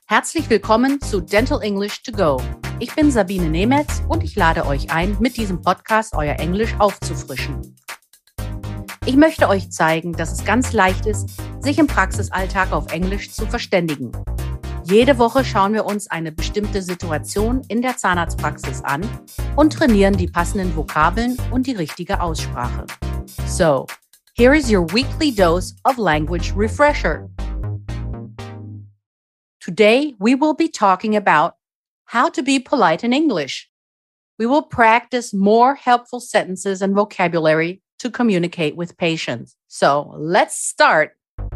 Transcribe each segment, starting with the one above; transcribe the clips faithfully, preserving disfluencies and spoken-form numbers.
Herzlich willkommen zu Dental English to Go. Ich bin Sabine Nemetz und ich lade euch ein, mit diesem Podcast euer Englisch aufzufrischen. Ich möchte euch zeigen, dass es ganz leicht ist, sich im Praxisalltag auf Englisch zu verständigen. Jede Woche schauen wir uns eine bestimmte Situation in der Zahnarztpraxis an und trainieren die passenden Vokabeln und die richtige Aussprache. So, here is your weekly dose of language refresher. Today, we will be talking about how to be polite in English. We will practice more helpful sentences and vocabulary to communicate with patients. So, let's start.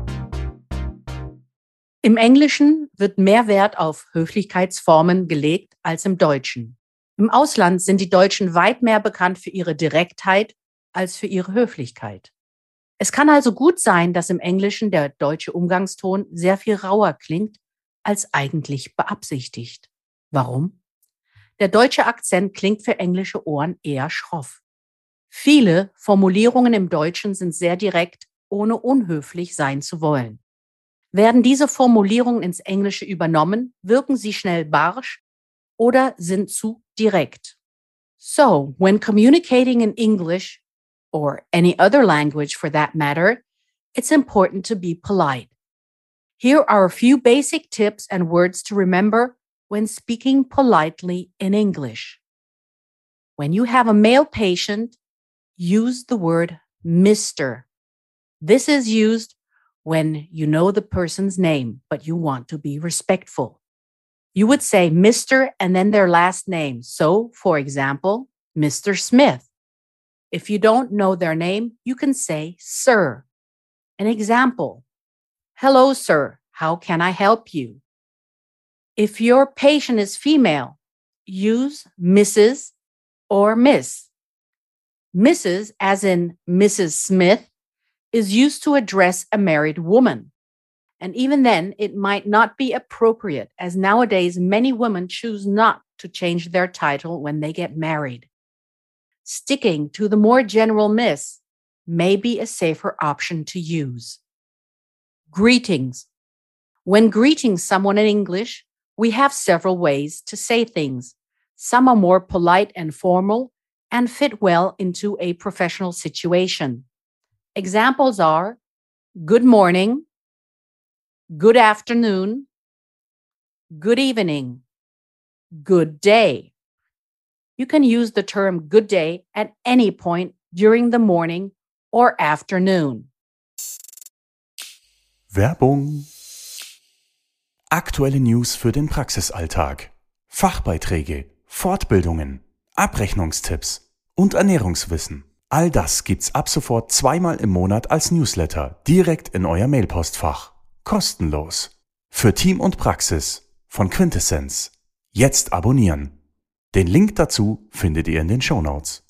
Im Englischen wird mehr Wert auf Höflichkeitsformen gelegt als im Deutschen. Im Ausland sind die Deutschen weit mehr bekannt für ihre Direktheit als für ihre Höflichkeit. Es kann also gut sein, dass im Englischen der deutsche Umgangston sehr viel rauer klingt, als eigentlich beabsichtigt. Warum? Der deutsche Akzent klingt für englische Ohren eher schroff. Viele Formulierungen im Deutschen sind sehr direkt, ohne unhöflich sein zu wollen. Werden diese Formulierungen ins Englische übernommen, wirken sie schnell barsch oder sind zu direkt. So, when communicating in English, or any other language for that matter, it's important to be polite. Here are a few basic tips and words to remember when speaking politely in English. When you have a male patient, use the word Mister. This is used when you know the person's name, but you want to be respectful. You would say Mister and then their last name. So, for example, Mister Smith. If you don't know their name, you can say Sir. An example. Hello, sir. How can I help you? If your patient is female, use Missus or Miss. Missus, as in Missus Smith, is used to address a married woman. And even then, it might not be appropriate, as nowadays many women choose not to change their title when they get married. Sticking to the more general Miss may be a safer option to use. Greetings. When greeting someone in English, we have several ways to say things. Some are more polite and formal and fit well into a professional situation. Examples are good morning, good afternoon, good evening, good day. You can use the term good day at any point during the morning or afternoon. Werbung. Aktuelle News für den Praxisalltag. Fachbeiträge, Fortbildungen, Abrechnungstipps und Ernährungswissen. All das gibt's ab sofort zweimal im Monat als Newsletter direkt in euer Mailpostfach. Kostenlos. Für Team und Praxis von Quintessenz. Jetzt abonnieren. Den Link dazu findet ihr in den Shownotes.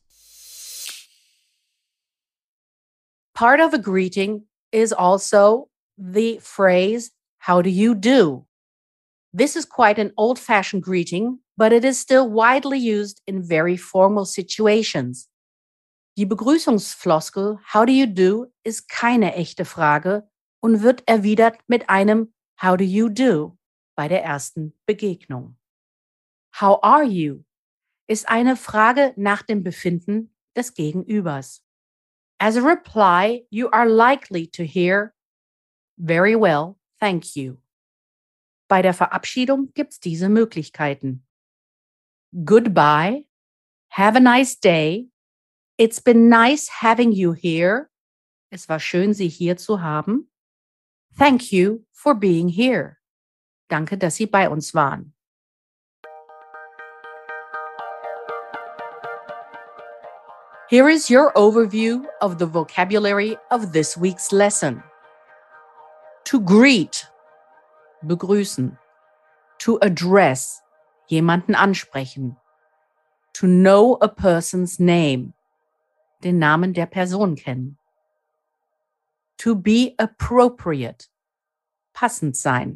Part of a greeting is also the phrase, how do you do? This is quite an old-fashioned greeting, but it is still widely used in very formal situations. Die Begrüßungsfloskel how do you do ist keine echte Frage und wird erwidert mit einem how do you do bei der ersten Begegnung. How are you ist eine Frage nach dem Befinden des Gegenübers. As a reply, you are likely to hear very well, thank you. Bei der Verabschiedung gibt's diese Möglichkeiten. Goodbye, have a nice day, it's been nice having you here, es war schön, Sie hier zu haben. Thank you for being here. Danke, dass Sie bei uns waren. Here is your overview of the vocabulary of this week's lesson. To greet, begrüßen. To address, jemanden ansprechen. To know a person's name, den Namen der Person kennen. To be appropriate, passend sein.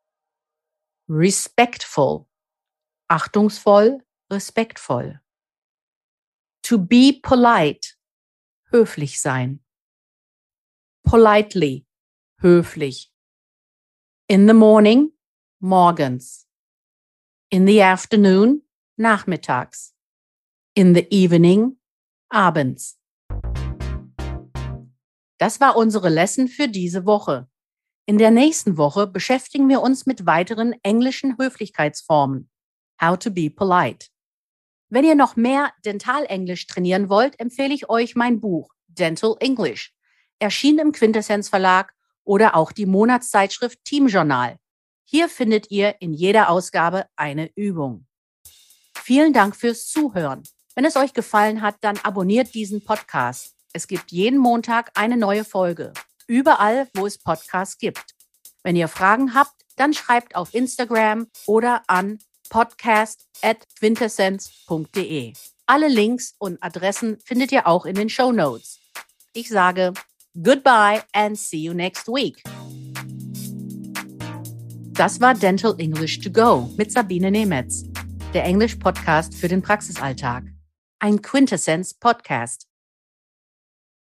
Respectful, achtungsvoll, respektvoll. To be polite, höflich sein. Politely, höflich. In the morning, morgens. In the afternoon, nachmittags. In the evening, abends. Das war unsere Lesson für diese Woche. In der nächsten Woche beschäftigen wir uns mit weiteren englischen Höflichkeitsformen. How to be polite. Wenn ihr noch mehr Dentalenglisch trainieren wollt, empfehle ich euch mein Buch Dental English, erschienen im Quintessenz Verlag, oder auch die Monatszeitschrift Team Journal. Hier findet ihr in jeder Ausgabe eine Übung. Vielen Dank fürs Zuhören. Wenn es euch gefallen hat, dann abonniert diesen Podcast. Es gibt jeden Montag eine neue Folge. Überall, wo es Podcasts gibt. Wenn ihr Fragen habt, dann schreibt auf Instagram oder an podcast at quintessenz punkt de. Alle Links und Adressen findet ihr auch in den Shownotes. Ich sage goodbye and see you next week. Das war Dental English to Go mit Sabine Nemetz, der Englisch-Podcast für den Praxisalltag. Ein Quintessenz-Podcast.